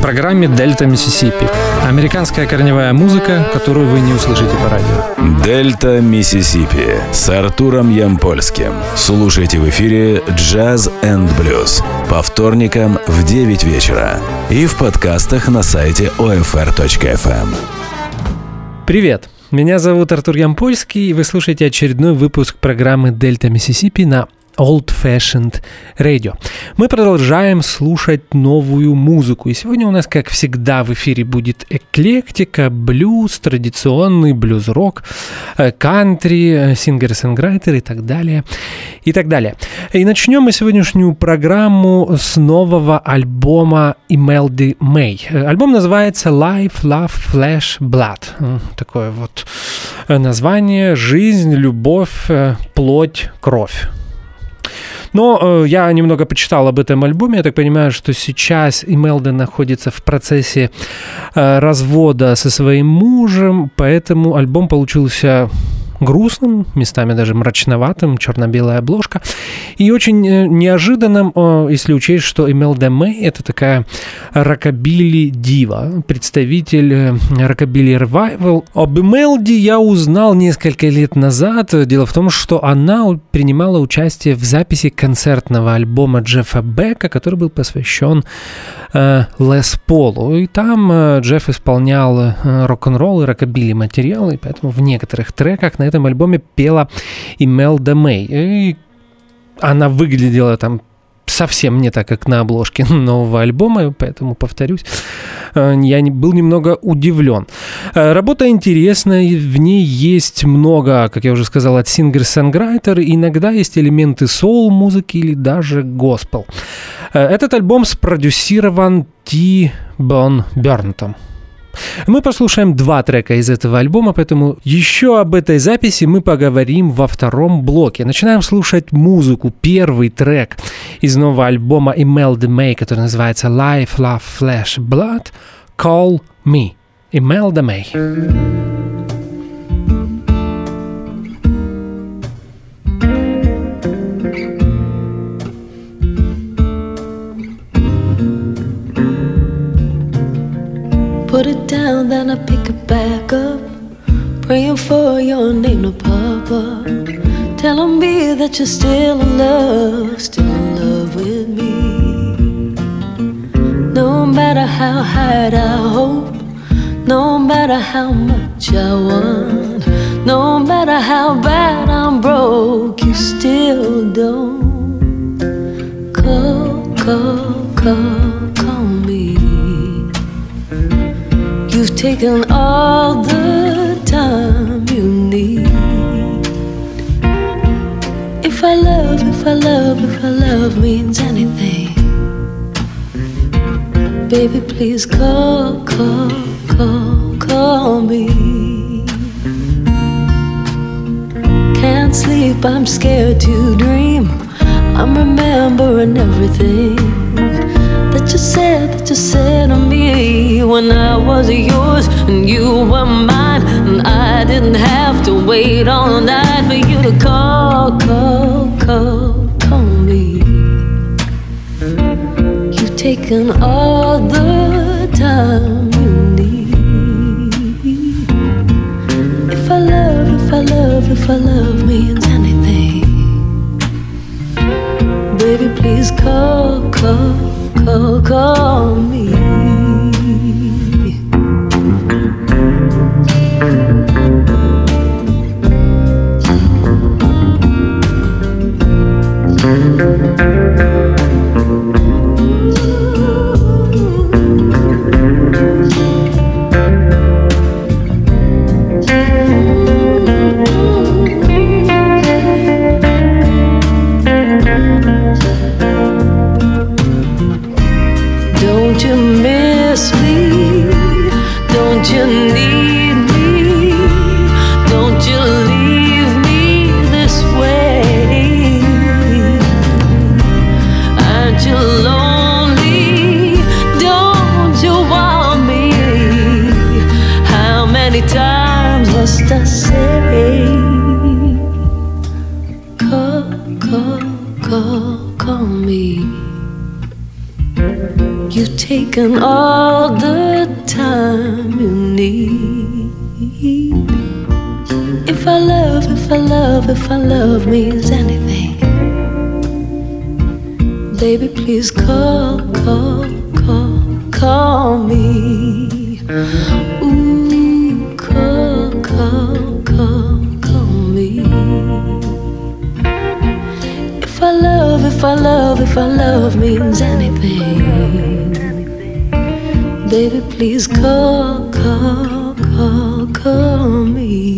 программе «Дельта Миссисипи». Американская корневая музыка, которую вы не услышите по радио. «Дельта Миссисипи» с Артуром Ямпольским. Слушайте в эфире «Джаз энд блюз» по вторникам в 9 вечера и в подкастах на сайте OFR.FM. Привет! Меня зовут Артур Ямпольский, и вы слушаете очередной выпуск программы «Дельта Миссисипи» на Old Fashioned Radio. Мы продолжаем слушать новую музыку. И сегодня у нас, как всегда, в эфире будет эклектика, блюз, традиционный блюз-рок, кантри, сингер-сонграйтер и так далее. И так далее. И начнем мы сегодняшнюю программу с нового альбома Imelda May. Альбом называется Life, Love, Flesh, Blood. Такое вот название: жизнь, любовь, плоть, кровь. Но я немного почитал об этом альбоме. Я так понимаю, что сейчас Imelda находится в процессе развода со своим мужем, поэтому альбом получился грустным, местами даже мрачноватым, черно-белая обложка, и очень неожиданным, если учесть, что Imelda May — это такая рокобили-дива, представитель рокобили-ревайвал. Об Imelda я узнал несколько лет назад. Дело в том, что она принимала участие в записи концертного альбома Джеффа Бека, который был посвящен Лес Полу, и там Джефф исполнял рок-н-ролл и рокобили материалы, и поэтому в некоторых треках на этом альбоме пела Imelda May. И она выглядела там совсем не так, как на обложке нового альбома, поэтому, повторюсь, я был немного удивлен. Работа интересная, в ней есть много, как я уже сказал, от сингер-сонграйтера, иногда есть элементы соул-музыки или даже госпел. Этот альбом спродюсирован Ти Бон Бернтом. Мы послушаем 2 трека из этого альбома, поэтому еще об этой записи мы поговорим во втором блоке. Начинаем слушать музыку. Первый трек из нового альбома Imelda May, который называется Life, Love, Flesh, Blood, Call Me. Imelda May. Put it down, then I pick it back up, praying for your name to pop up, telling me that you're still in love with me. No matter how high I hope, no matter how much I want, no matter how bad I'm broke, you still don't call me. You've taken all the time you need. If I love means anything, baby, please call me. Can't sleep, I'm scared to dream. I'm remembering everything that you said to me when I was yours and you were mine, and I didn't have to wait all night for you to call me. You've taken all the time you need. If I love means anything, baby, please call me. Don't you miss me? Don't you need me? Don't you leave me this way? Aren't you lonely? Don't you want me? How many times must I say? Call me. You You've taken all the time you need. If our love means anything, baby, please call me. Ooh, call me. If our love means anything, baby, please call me.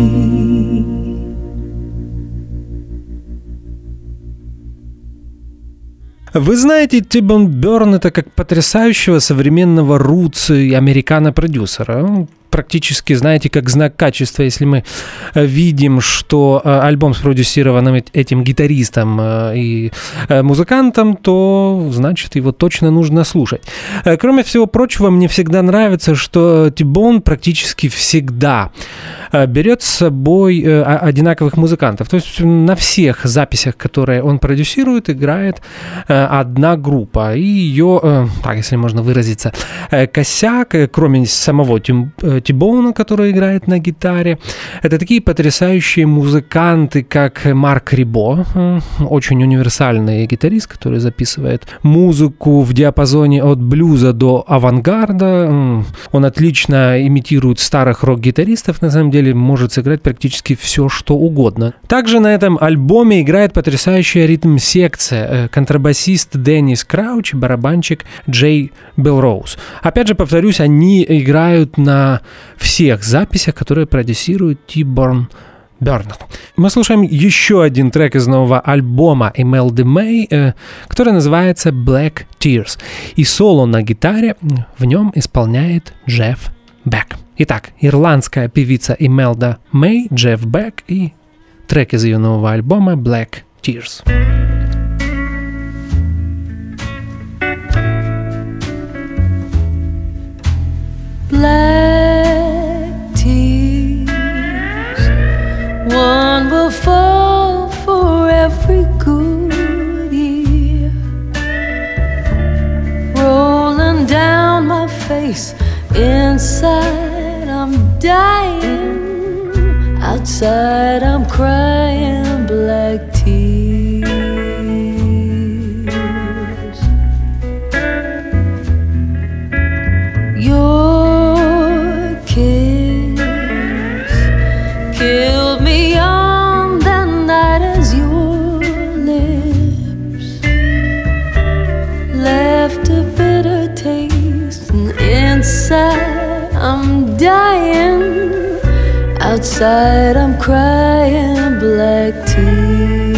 Вы знаете, T-Bone Burnett это как потрясающего современного рутс и американо-продюсера. Практически, знаете, как знак качества, если мы видим, что альбом спродюсирован этим гитаристом и музыкантом, то, значит, его точно нужно слушать. Кроме всего прочего, мне всегда нравится, что T-Bone практически всегда берет с собой одинаковых музыкантов. То есть на всех записях, которые он продюсирует, играет одна группа. И ее, так, если можно выразиться, косяк, кроме самого T-Bone, который играет на гитаре, это такие потрясающие музыканты, как Марк Рибо, очень универсальный гитарист, который записывает музыку в диапазоне от блюза до авангарда. Он отлично имитирует старых рок-гитаристов, на самом деле может сыграть практически все, что угодно. Также на этом альбоме играет потрясающая ритм-секция, контрабасист Деннис Крауч и барабанщик Джей Белроуз. Опять же, повторюсь, они играют на всех записях, которые продюсирует T-Bone Burnett. Мы слушаем еще один трек из нового альбома Imelda May, который называется Black Tears. И соло на гитаре в нем исполняет Джефф Бек. Итак, ирландская певица Imelda May, Джефф Бек и трек из ее нового альбома Black Tears. Black tears, one will fall for every good year, rolling down my face. Inside I'm dying, outside I'm crying black tears. Your kiss killed me on the night as your lips left a bitter taste, and inside I'm dying, outside I'm crying black tears.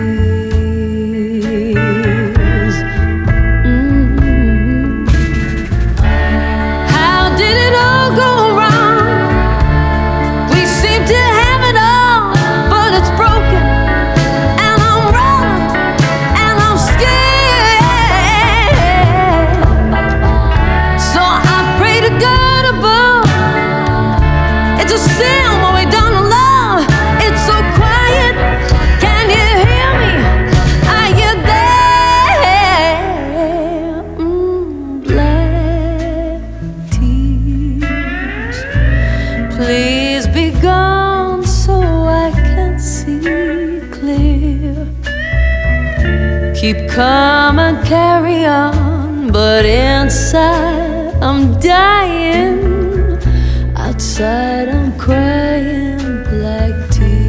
How did it all go wrong? We seem to have it all, but it's broken, and I'm wrong, and I'm scared. So I pray to God above. It's a sin when we don't love. It's so quiet. Can you hear me? Are you there? Black tears, please be gone so I can see clear. Keep calm and carry on, but inside I'm dying, outside I'm crying black tears.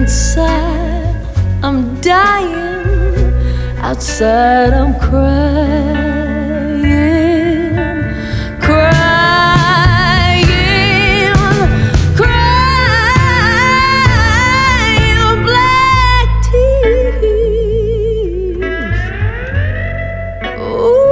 inside I'm dying, outside I'm crying, crying, crying black tears. Ooh.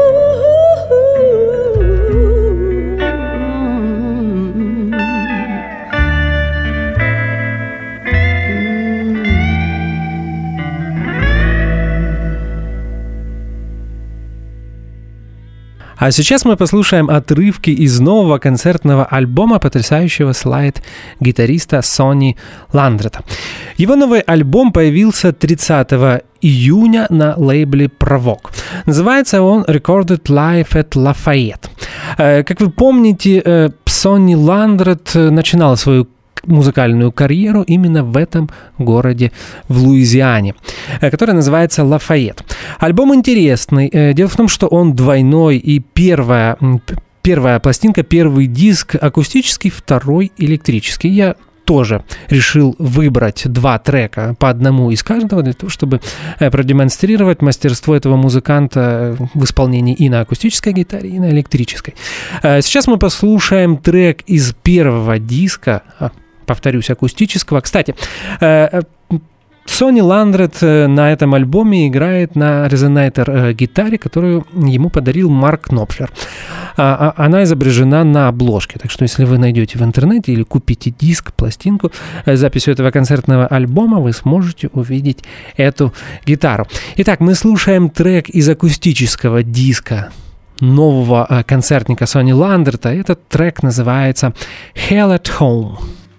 А сейчас мы послушаем отрывки из нового концертного альбома потрясающего слайд-гитариста Сонни Ландрета. Его новый альбом появился 30 июня на лейбле Provoke. Называется он Recorded Live at Lafayette. Как вы помните, Сонни Ландрет начинал свою музыкальную карьеру именно в этом городе в Луизиане, который называется Лафайет. Альбом интересный. Дело в том, что он двойной, и первая пластинка, первый диск акустический, второй электрический. Я тоже решил выбрать два трека по одному из каждого для того, чтобы продемонстрировать мастерство этого музыканта в исполнении и на акустической гитаре, и на электрической. Сейчас мы послушаем трек из первого диска, повторюсь, акустического. Кстати, Сонни Ландрет на этом альбоме играет на резонатор-гитаре, которую ему подарил Марк Knopfler. Она изображена на обложке, так что если вы найдете в интернете или купите диск, пластинку с записью этого концертного альбома, вы сможете увидеть эту гитару. Итак, мы слушаем трек из акустического диска нового концертника Сонни Ландрета. Этот трек называется «Hell at Home».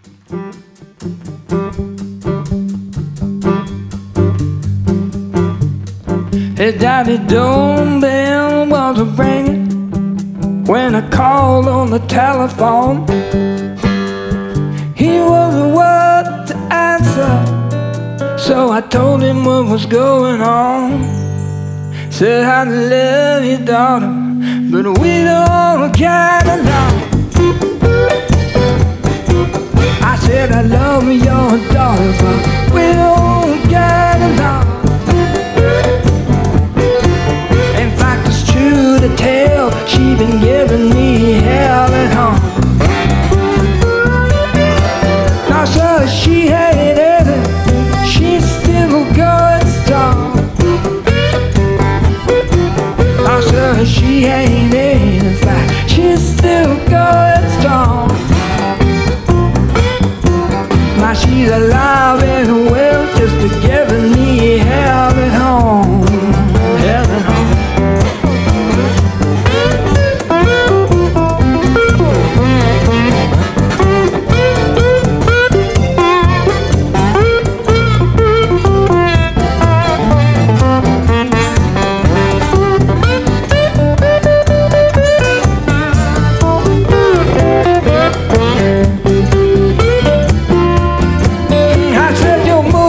His daddy doorbell was ringing when I called on the telephone. He wasn't what to answer, so I told him what was going on. Said I love you, daughter, but we don't get along. I said I love your daughter, but we don't get along. In fact, it's true to tell, she been giving me hell at home. Now, so she hated it, she's still going strong. Now, so she ain't in fact, she's still going strong. Now she's alive and well, just to giving me hell at home, hell at home. I said your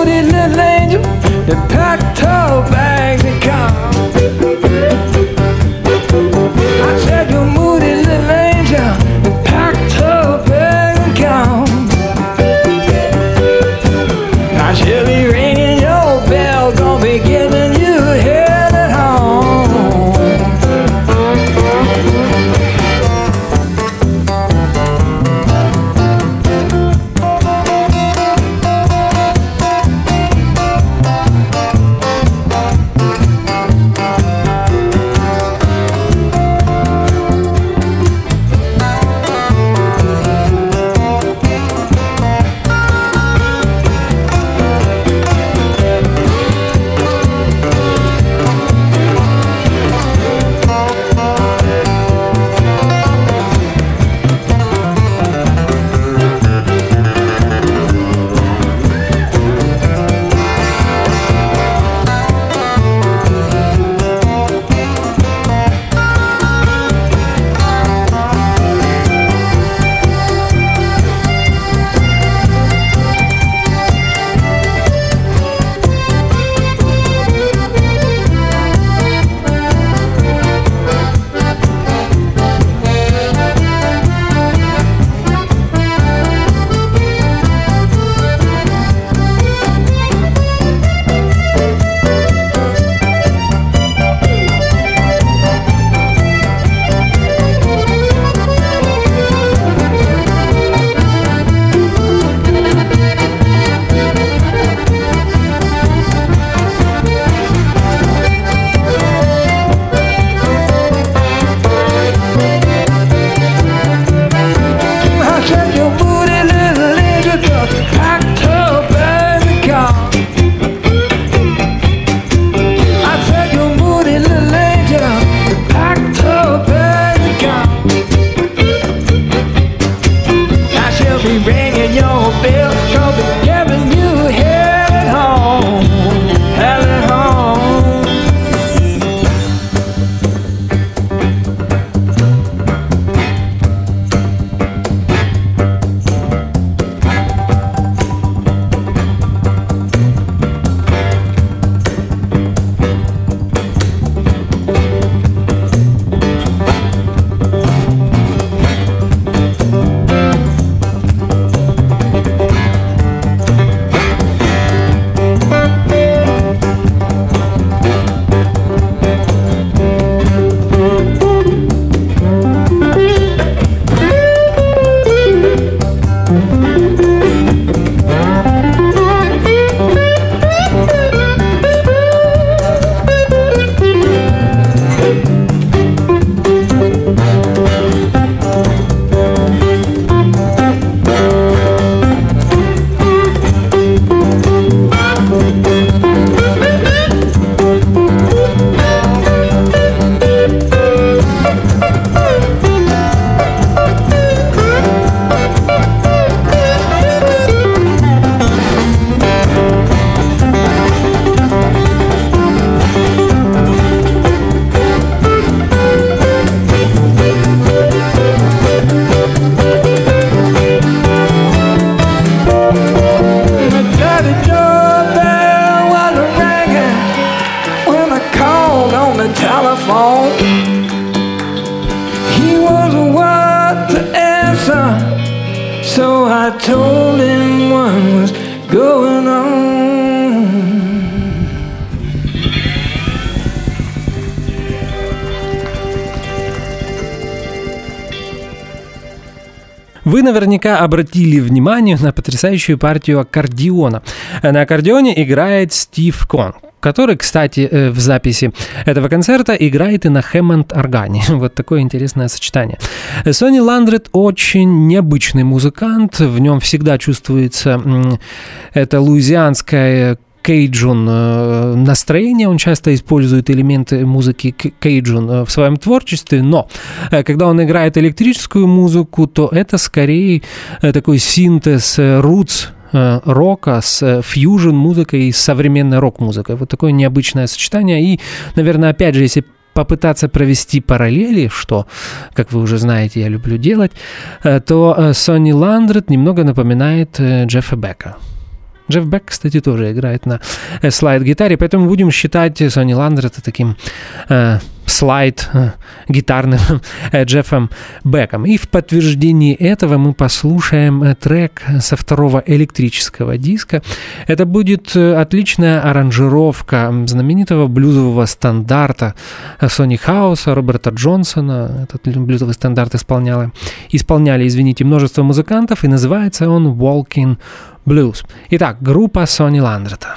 Вы наверняка обратили внимание на потрясающую партию аккордеона. На аккордеоне играет Стив Конг, который, кстати, в записи этого концерта играет и на Хэммонд-органе. Вот такое интересное сочетание. Сонни Ландрет очень необычный музыкант, в нем всегда чувствуется это луизианское кейджун настроение, он часто использует элементы музыки кейджун в своем творчестве, но когда он играет электрическую музыку, то это скорее такой синтез roots рока с фьюжн-музыкой и с современной рок-музыкой. Вот такое необычное сочетание. И, наверное, опять же, если попытаться провести параллели, что, как вы уже знаете, я люблю делать, то Сонни Ландрет немного напоминает Джеффа Бека. Джефф Бек, кстати, тоже играет на слайд-гитаре, поэтому будем считать Сонни Ландрета таким слайд-гитарным Джеффом Беком. И в подтверждении этого мы послушаем трек со второго электрического диска. Это будет отличная аранжировка знаменитого блюзового стандарта Сонни Хауса, Роберта Джонсона. Этот блюзовый стандарт исполняли, множество музыкантов, и называется он «Walking Blues». Итак, группа Сонни Ландрета.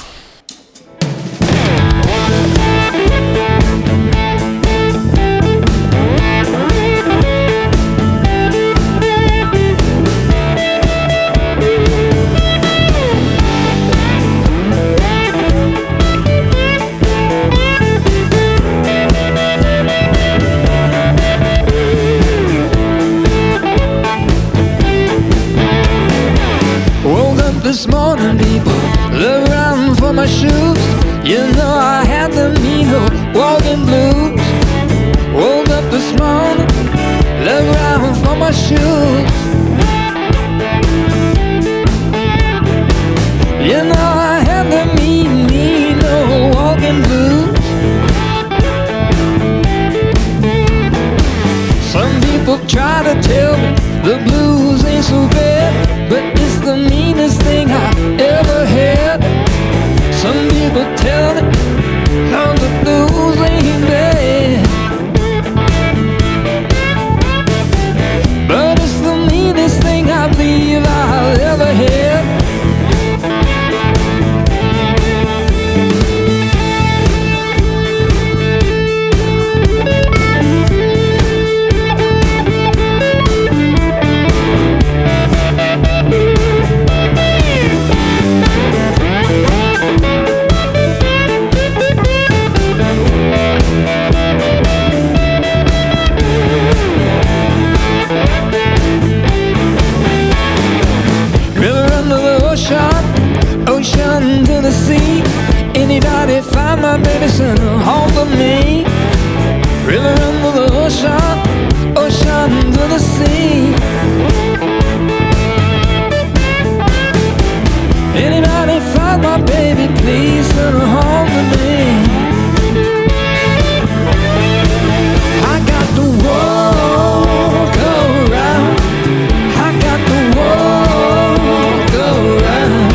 This morning, people look around for my shoes. You know I had the mean old walking blues. Woke up this morning, look around for my shoes. You know I had the mean old walking blues. Some people try to tell me the blues ain't so bad, but it's the meanest thing I ever had. Some people tell me how the blues ain't bad, but it's the meanest thing I believe I'll ever had. Ocean to the sea. Anybody find my baby, send her home to me. River under the ocean, ocean to the sea. Anybody find my baby, please send her home to me. I got to walk around. I got to walk around.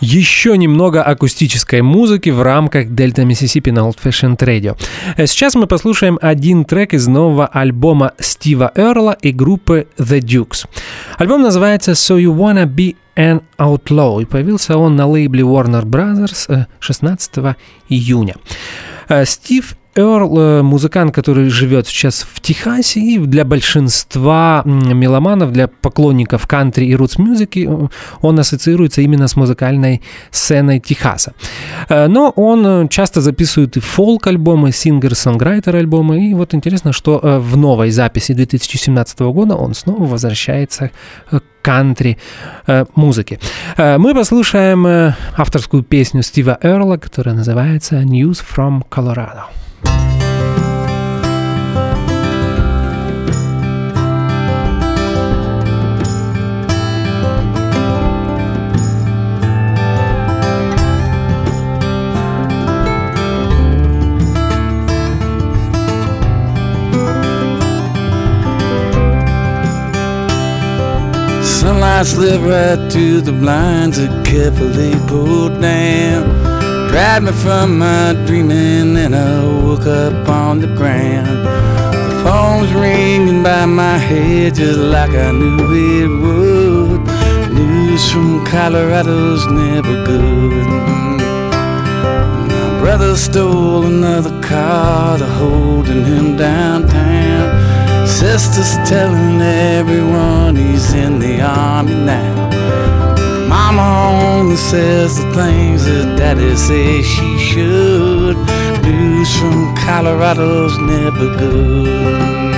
еще немного акустической музыки в рамках Delta Mississippi на Old Fashioned Radio. Сейчас мы послушаем один трек из нового альбома Стива Эрла и группы The Dukes. Альбом называется So You Wanna Be an Outlaw, и появился он на лейбле Warner Brothers 16 июня. Стив Эрл — музыкант, который живет сейчас в Техасе, и для большинства меломанов, для поклонников кантри и рутс-музыки он ассоциируется именно с музыкальной сценой Техаса. Но он часто записывает и фолк-альбомы, сингер-сонграйтер-альбомы, и вот интересно, что в новой записи 2017 года он снова возвращается к кантри-музыке. Мы послушаем авторскую песню Стива Эрла, которая называется «News from Colorado». Sunlight slipped right through the blinds that carefully pulled down, dragged me from my dreaming, and I woke up on the ground. The phone's ringing by my head just like I knew it would. News from Colorado's never good. My brother stole another car to holding him downtown. Sister's telling everyone he's in the army now. Mama only says the things that Daddy says she should. News from Colorado's never good.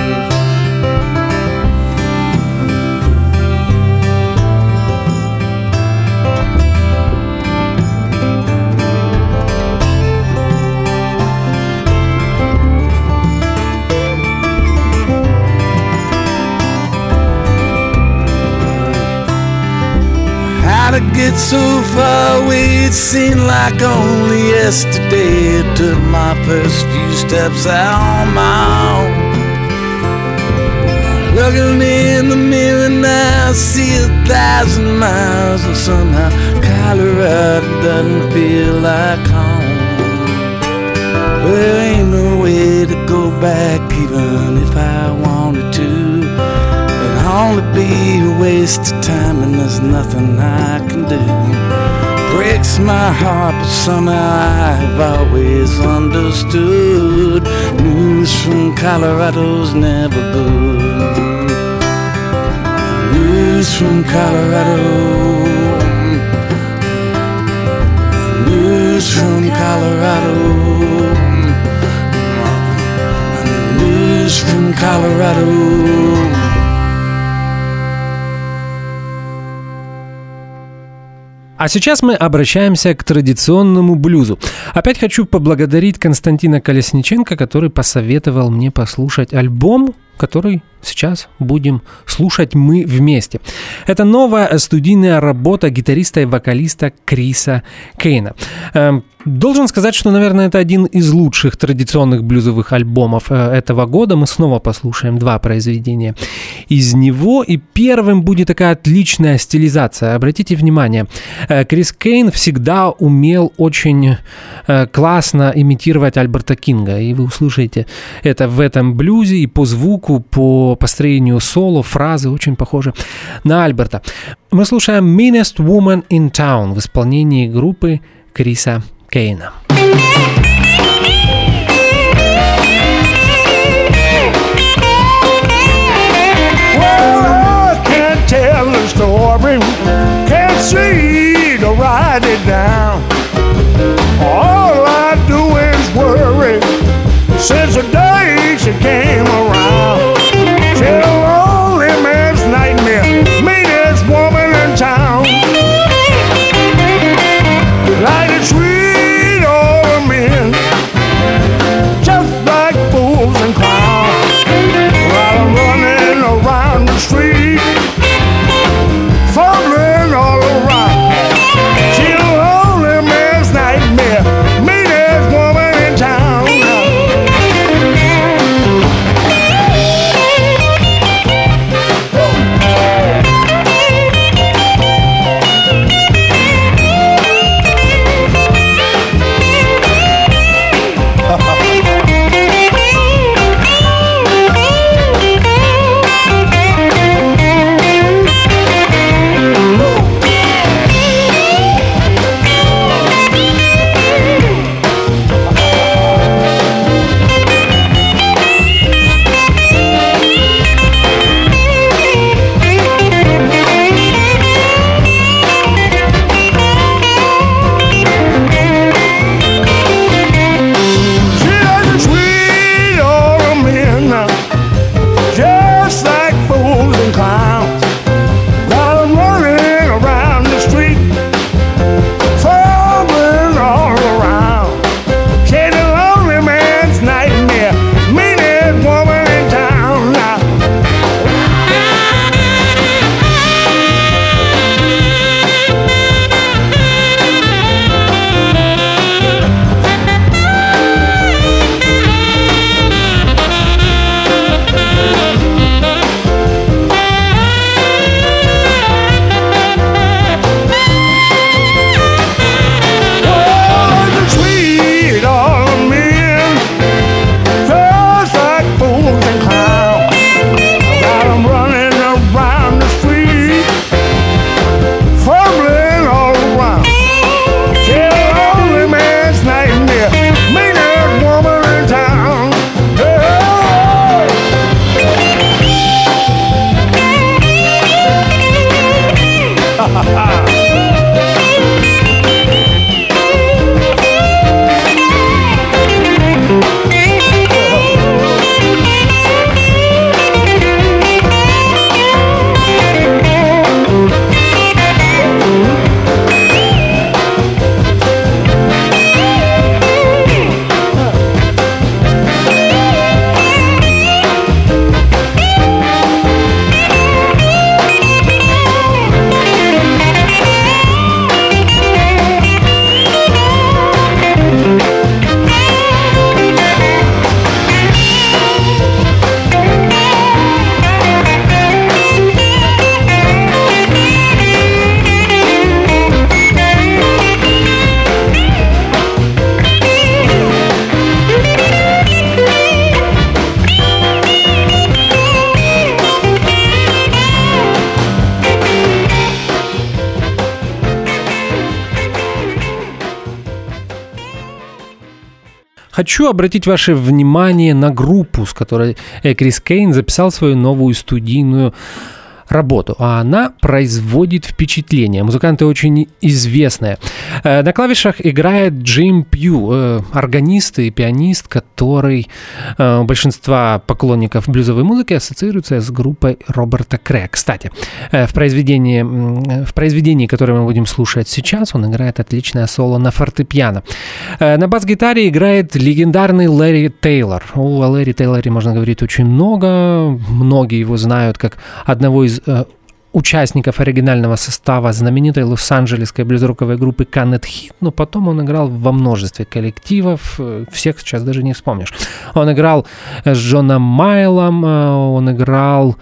To get so far away, it seemed like only yesterday I took my first few steps out on my own. Looking in the mirror now, I see 1,000 miles, and somehow Colorado doesn't feel like home. There ain't no way to go back, even if I wanted to. Only be a waste of time, and there's nothing I can do. Breaks my heart, but somehow I've always understood. News from Colorado's never good. News from Colorado. News from Colorado. News from Colorado. А сейчас мы обращаемся к традиционному блюзу. Опять хочу поблагодарить Константина Колесниченко, который посоветовал мне послушать альбом, который сейчас будем слушать мы вместе. Это новая студийная работа гитариста и вокалиста Криса Кейна. Должен сказать, что, наверное, это один из лучших традиционных блюзовых альбомов этого года. Мы снова послушаем два произведения из него. И первым будет такая отличная стилизация. Обратите внимание, Крис Кейн всегда умел очень классно имитировать Альберта Кинга. И вы услышите это в этом блюзе и по звуку, по построению соло, фразы очень похожи на Альберта. Мы слушаем Meanest Woman in Town в исполнении группы Криса Кейна. Well, I can't tell the story, can't see to write it down. All I do is worry since the day she came around. She's a lonely man's nightmare, meanest woman in town. Like a sweet old men, just like fools and clowns, while I'm running around the street, fumbling хочу обратить ваше внимание на группу, с которой Крис Кейн записал свою новую студийную работу, а она производит впечатление. Музыканты очень известные. На клавишах играет Джим Пью, органист и пианист, который у большинства поклонников блюзовой музыки ассоциируется с группой Роберта Крея. Кстати, в произведении, которое мы будем слушать сейчас, он играет отличное соло на фортепиано. На бас-гитаре играет легендарный Ларри Тейлор. О Ларри Тейлоре можно говорить очень много. Многие его знают как одного из участников оригинального состава знаменитой лос-анджелесской блюз-роковой группы Can't Hit, но потом он играл во множестве коллективов, всех сейчас даже не вспомнишь. Он играл с Джоном Майлом, он играл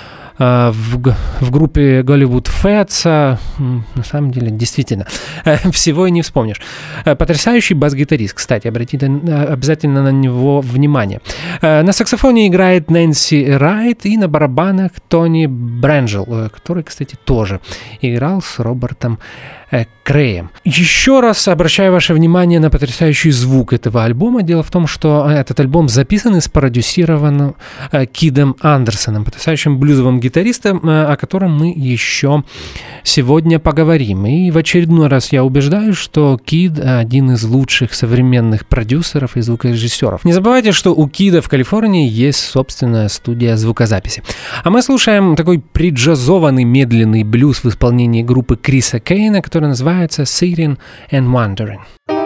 в группе Голливуд Фэтса. На самом деле, действительно, всего и не вспомнишь. Потрясающий бас-гитарист, кстати, обратите обязательно на него внимание. На саксофоне играет Нэнси Райт и на барабанах Тони Брэнджел, который, кстати, тоже играл с Робертом Креем. Еще раз обращаю ваше внимание на потрясающий звук этого альбома. Дело в том, что этот альбом записан и спродюсирован Кидом Андерсоном, потрясающим блюзовым гитаристом, о котором мы еще сегодня поговорим. И в очередной раз я убеждаюсь, что Кид один из лучших современных продюсеров и звукорежиссеров. Не забывайте, что у Кида в Калифорнии есть собственная студия звукозаписи. А мы слушаем такой преджазованный медленный блюз в исполнении группы Криса Кейна, который называется Sitting and Wondering.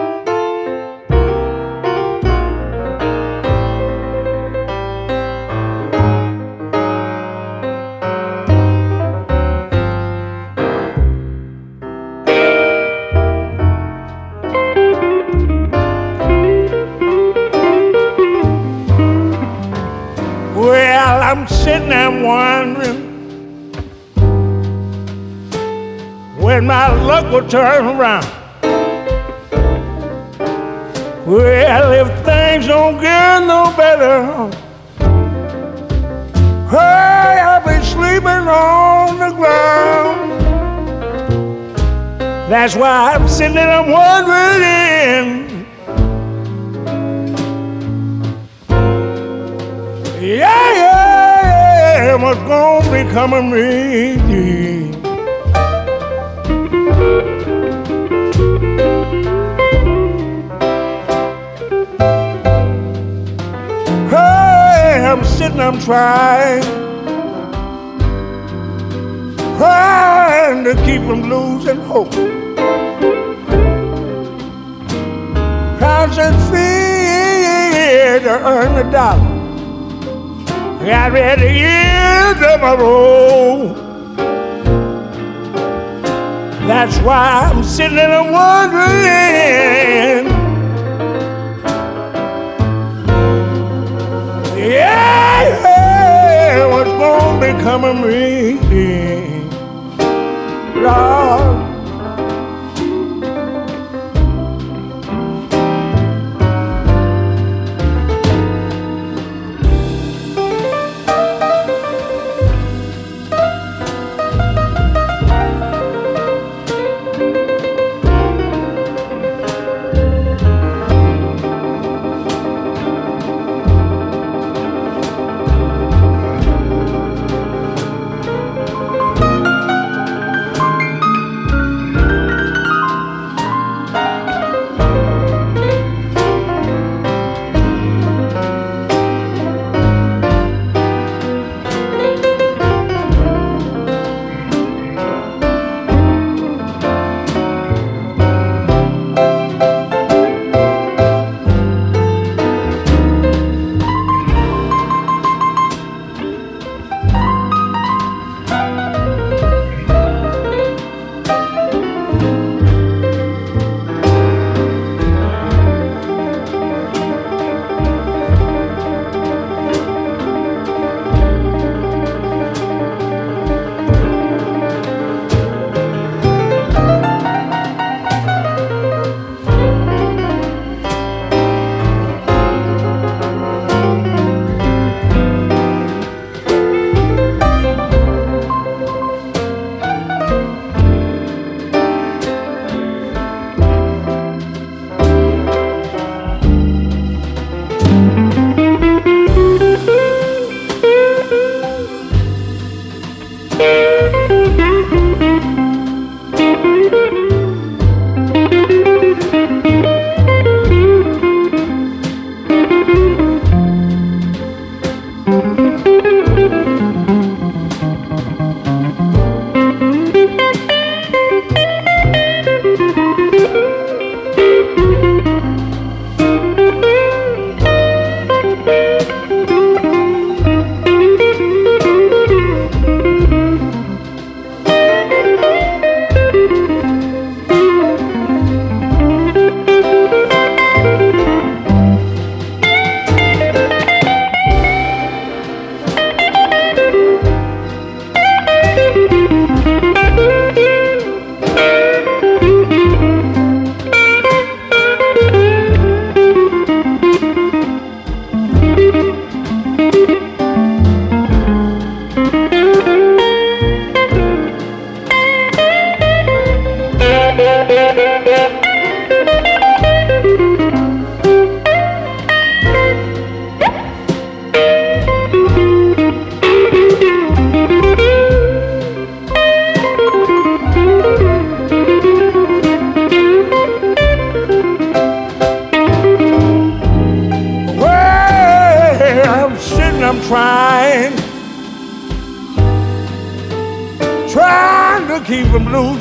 Well, I'm sitting and wondering when my luck will turn around. Well, if things don't get no better, hey, I'll be sleeping on the ground. That's why I'm sitting and I'm wondering, yeah, what's gonna become of me? Hey, I'm sitting, I'm trying to keep from losing hope. How's it feel to earn a dollar? Got ready to end of my road. That's why I'm sitting and I'm wondering, yeah, what's gonna become of me, Lord?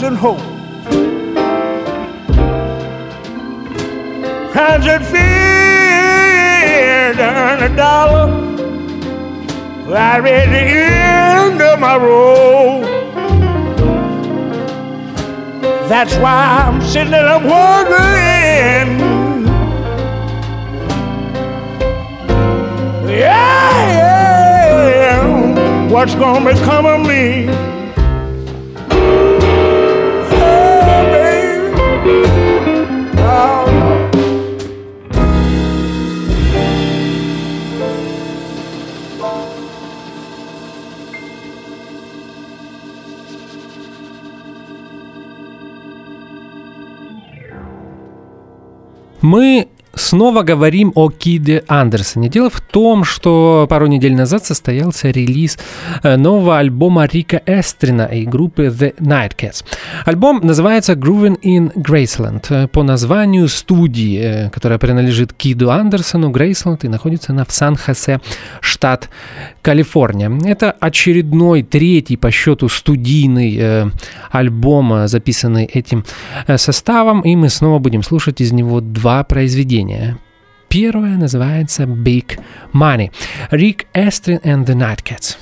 losing hope. Times that fear to earn $1 right at the end of my road. That's why I'm sitting and I'm wondering, yeah, what's gonna become of me? Oh, baby, oh. Мы снова говорим о Киде Андерсоне. Дело в том, что пару недель назад состоялся релиз нового альбома Рика Эстрина и группы The Nightcats. Альбом называется Groovin' in Graceland по названию студии, которая принадлежит Киду Андерсону, Грейсленд, и находится она в Сан-Хосе, штат Калифорния. Это очередной, третий по счету студийный альбом, записанный этим составом, и мы снова будем слушать из него два произведения. Первое называется Big Money. Rick Astley and the Nightcats.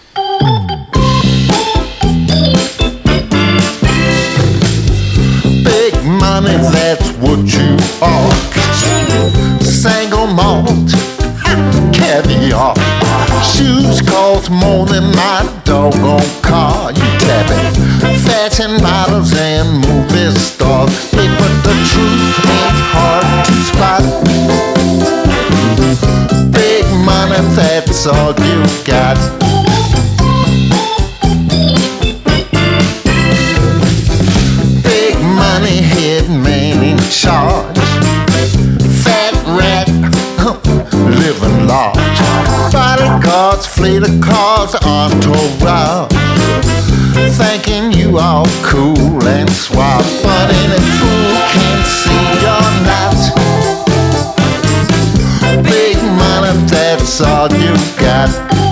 Big money, that's what you are. Single malt, caviar. Shoes cost more than my doggone car. You tap it. Fashion models and movie stars. Hey, but the truth ain't hard to spot. Big money, that's all you got. Big money, head man in charge. Fat rat, living large. Bodyguards, fleet of cars, entourage. Thinking you all cool and suave, but any fool can see you're not. Big money, that's all you got.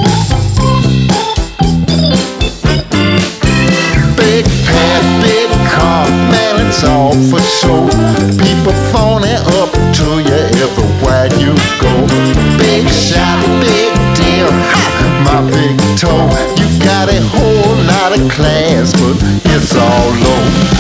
Big pad, big car, man, it's all for show. People phoning up to you everywhere you go. Big shot, big deal, ha, my big toe. You got a whole lot of class, but it's all low.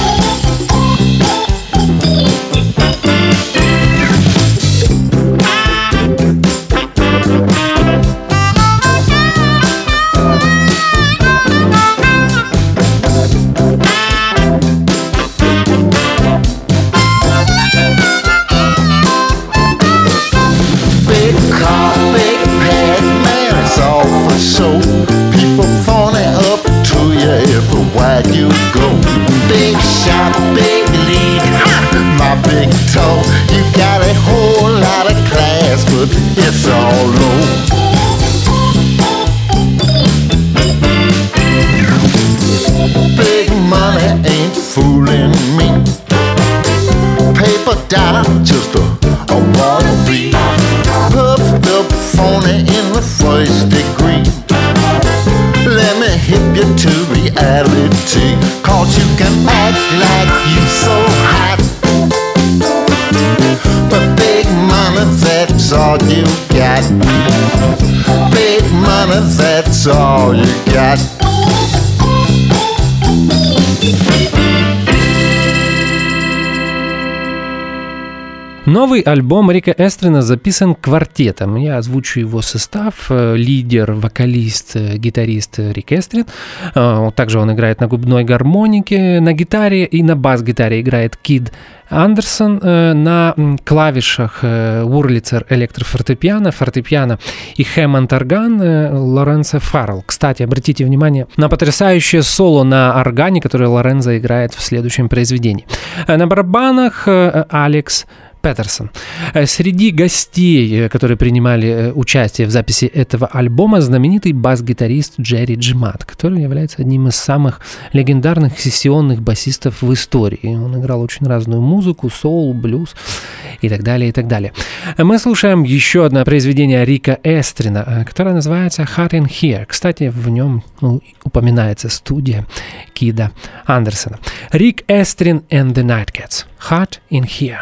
So people phoning up to you everywhere you go. Big shot, big lead, ha, my big toe. You got a whole lot of class, but it's all low. Big money ain't fooling me. Paper dollar, just a wannabe. Puffed up, phony in the first degree. Let me hit you to reality, 'cause you can act like you so hot. But big money, that's all you got. Big money, that's all you got. Новый альбом Рика Эстрина записан квартетом. Я озвучу его состав. Лидер, вокалист, гитарист Рик Эстрин. Также он играет на губной гармонике, на гитаре и на бас-гитаре играет Кид Андерсон. На клавишах Урлицер электрофортепиано, фортепиано и Хэммонд-орган Лоренцо Фаррелл. Кстати, обратите внимание на потрясающее соло на органе, которое Лоренцо играет в следующем произведении. На барабанах Алекс Петерсон. Среди гостей, которые принимали участие в записи этого альбома, знаменитый бас-гитарист Джерри Джимат, который является одним из самых легендарных сессионных басистов в истории. Он играл очень разную музыку, соул, блюз и так далее, и так далее. Мы слушаем еще одно произведение Рика Эстрина, которое называется «Hot in Here». Кстати, в нем упоминается студия Кида Андерсона. Рик Эстрин and the Nightcats. «Hot in Here».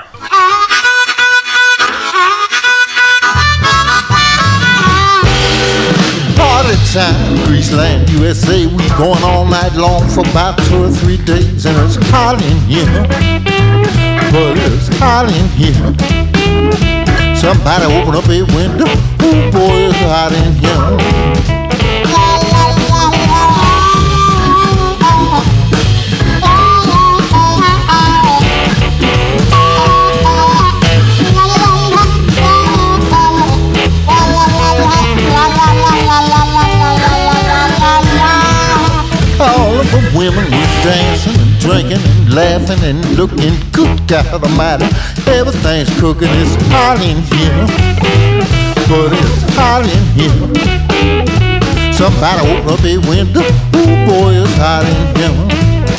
Party time, Greaseland, USA. We going all night long for about 2 or 3 days, and it's hot in here. But it's hot in here. Somebody open up a window. Ooh, boy, it's hot in here. All of the women were dancing and drinking and laughing and looking good, God almighty. Everything's cooking, it's hot in here. But it's hot in here. Somebody open up a window. Ooh, boy, it's hot in here.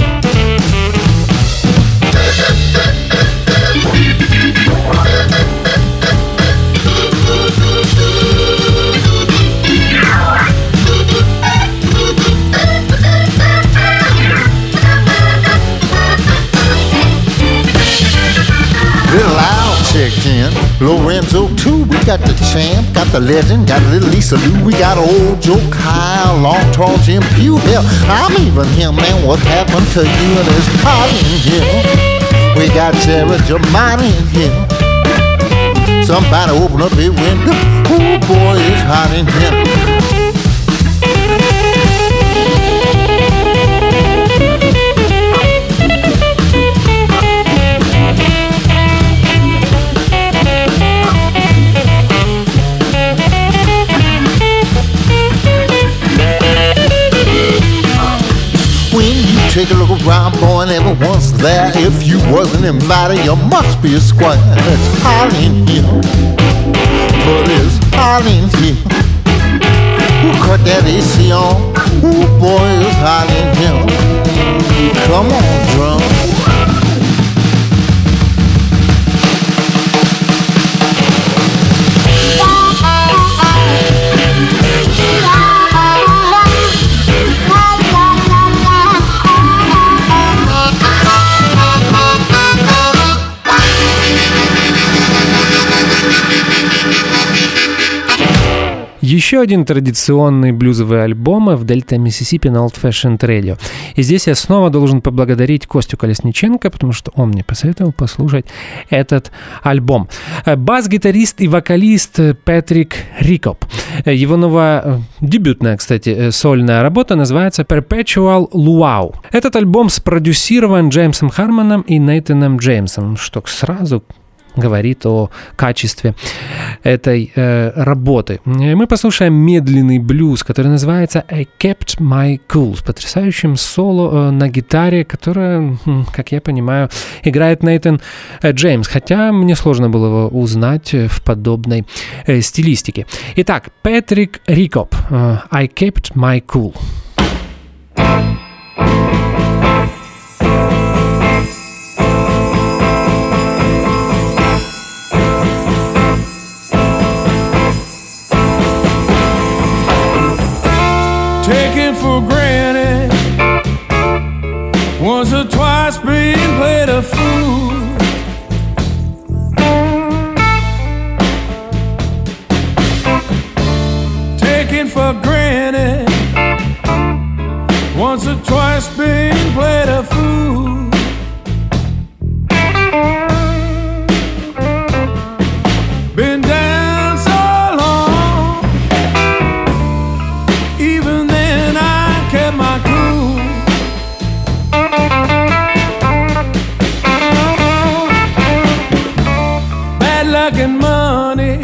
Little Al checked in, Lorenzo too. We got the champ, got the legend, got little Lisa Lou. We got old Joe Kyle, long tall Jim Pugh. Hell, I'm even here, man. What happened to you? And it's hot in here. We got Jared Jamani in here. Somebody open up a window. Ooh, boy, it's hot in here. Take a look around, boy, and everyone's there. If you wasn't invited, you must be a square. It's hot in here, but it's hot in here. Who cut that AC on? Ooh, boy, it's hot in here. Come on, drum. Еще один традиционный блюзовый альбом в Дельта Миссисипи на Old Fashioned Radio. И здесь я снова должен поблагодарить Костю Колесниченко, потому что он мне посоветовал послушать этот альбом. Бас-гитарист и вокалист Патрик Рикоп. Его новая, дебютная, кстати, сольная работа называется Perpetual Luau. Этот альбом спродюсирован Джеймсом Хармоном и Нейтаном Джеймсом, что сразу говорит о качестве этой работы. Мы послушаем медленный блюз, который называется I Kept My Cool, с потрясающим соло на гитаре, которое, как я понимаю, играет Нейтан Джеймс, хотя мне сложно было его узнать в подобной стилистике. Итак, Патрик Рикоп, I Kept My Cool. For granted, once or twice being played a fool. Taken for granted, once or twice being played a fool. Been down so long, even then I kept my cool. Bad luck and money,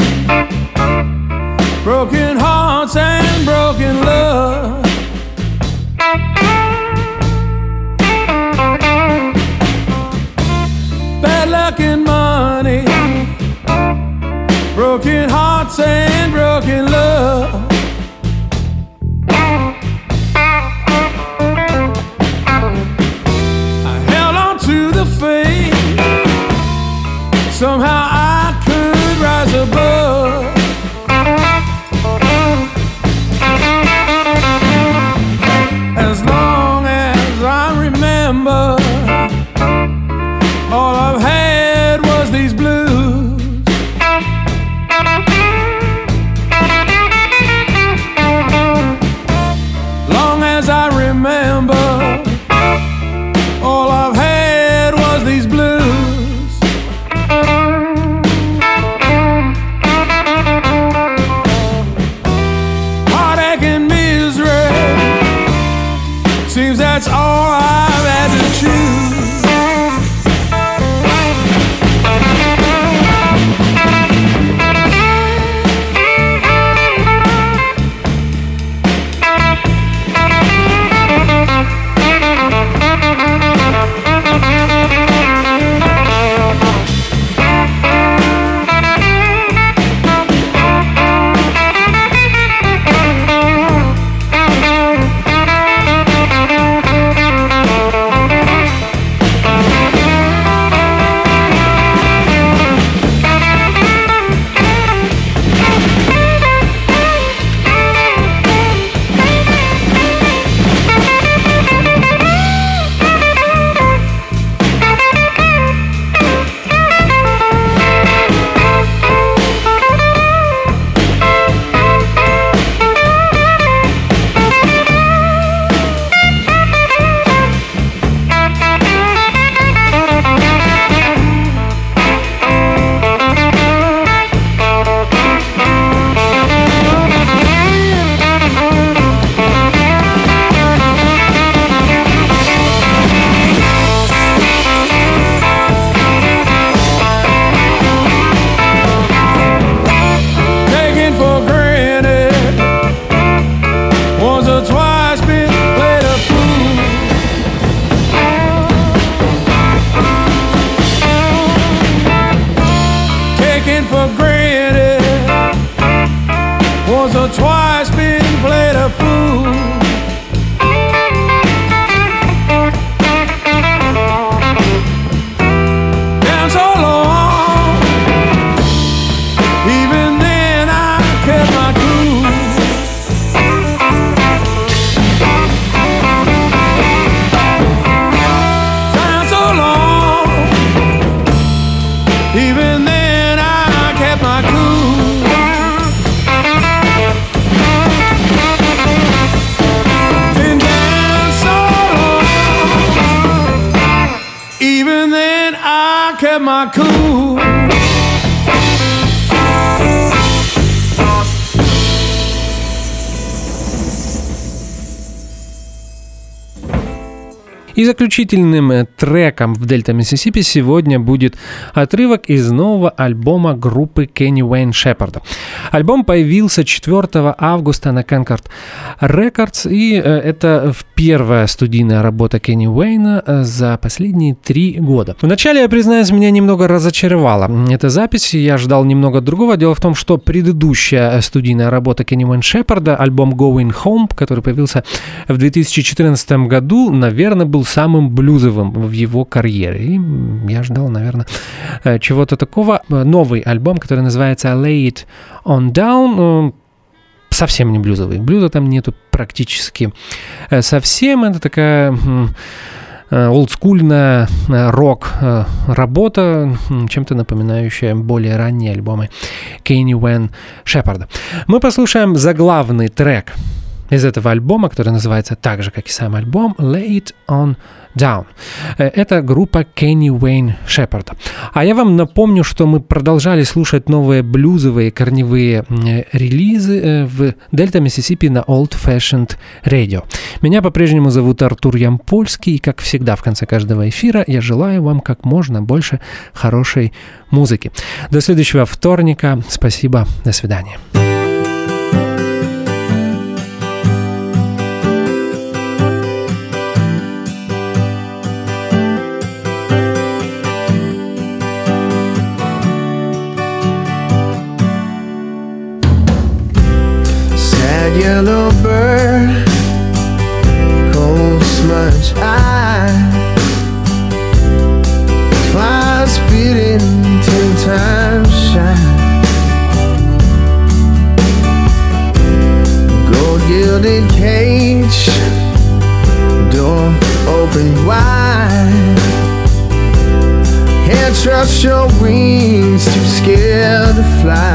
broken hearts and broken love. Bad luck and money, broken hearts and broken love. I held on to the faith, somehow I could rise above. As long as I remember, all I've had was these blues. Long as I remember, all I've had was these blues. Heartache and misery, seems that's all I've had to choose. И заключительным треком в Дельта Миссисипи сегодня будет отрывок из нового альбома группы Кенни Уэйн Шепарда. Альбом появился 4 августа на Concord Records, и это первая студийная работа Кенни Уэйна за последние 3 года. Вначале, я признаюсь, меня немного разочаровала эта запись, я ждал немного другого. Дело в том, что предыдущая студийная работа Кенни Уэйн Шепарда, альбом Going Home, который появился в 2014 году, наверное, был самым блюзовым в его карьере. И я ждал, наверное, чего-то такого. Новый альбом, который называется Lay It On Down, совсем не блюзовый. Блюза там нету практически совсем. Это такая олдскульная рок-работа, чем-то напоминающая более ранние альбомы Кенни Уэйн Шепарда. Мы послушаем заглавный трек из этого альбома, который называется так же, как и сам альбом, Lay It On Down. Это группа Кенни Уэйн Шепарда. А я вам напомню, что мы продолжали слушать новые блюзовые корневые релизы в Дельта Миссисипи на Old Fashioned Radio. Меня по-прежнему зовут Артур Ямпольский, и, как всегда, в конце каждого эфира я желаю вам как можно больше хорошей музыки. До следующего вторника. Спасибо. До свидания. 10 shine. Gold gilded cage, door open wide. Can't trust your wings, too scared to fly.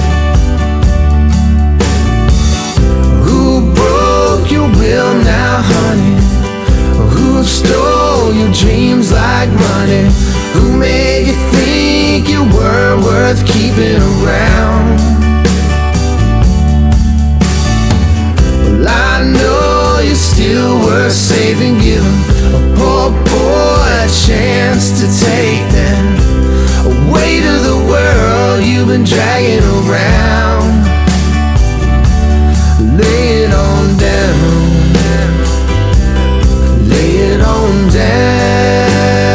Who broke your will now, honey? Who stole your dreams like money? Who made you think you were worth keeping around? Well, I know you're still worth saving, giving a poor boy a chance to take them away to the world you've been dragging around. Lay it on down. Lay it on down.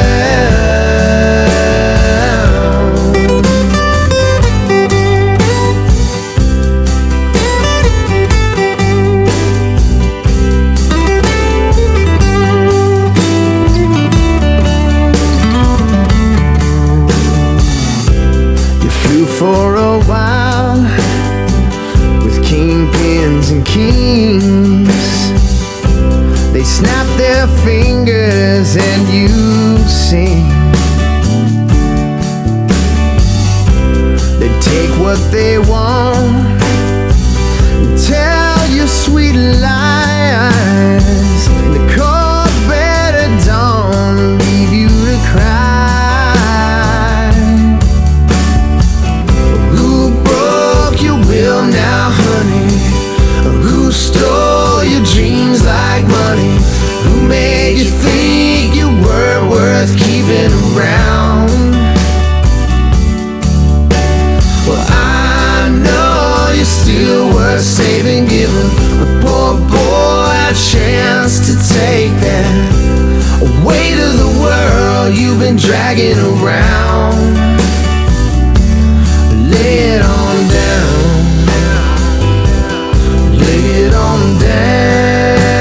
You flew for a while with kingpins and kings. They snap their fingers and you sing. They take what they want, tell you sweet lies. The cold bed at dawn leave you to cry. Who broke your will now, honey? Who stole your dreams like money? Who made you think you were worth keeping around? Well, I know you're still worth saving, giving a poor boy a chance to take that away to the world you've been dragging around. Lay it on down. Lay it on down.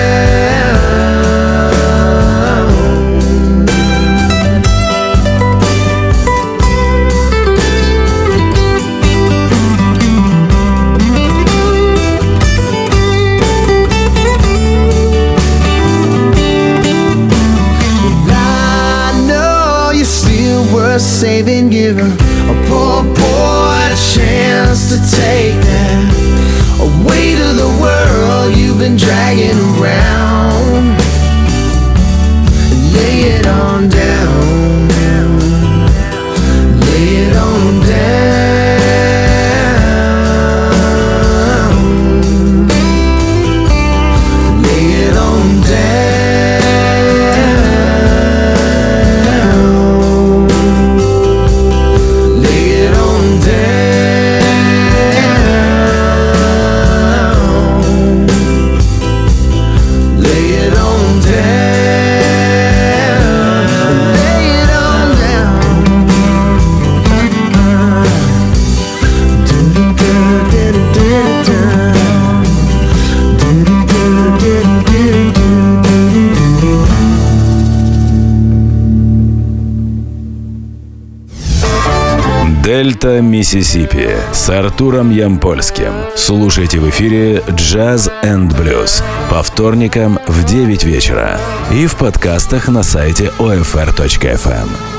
I know you're still worth saving, giving a poor boy a chance to take that away to the world you've been dragging around. Lay it on down. Lay it on down. Lay it on down. Lay it on down. Lay it on down. Lay it on Дельта Миссисипи с Артуром Ямпольским. Слушайте в эфире Jazz and Blues по вторникам в 9 вечера и в подкастах на сайте OFR.FM.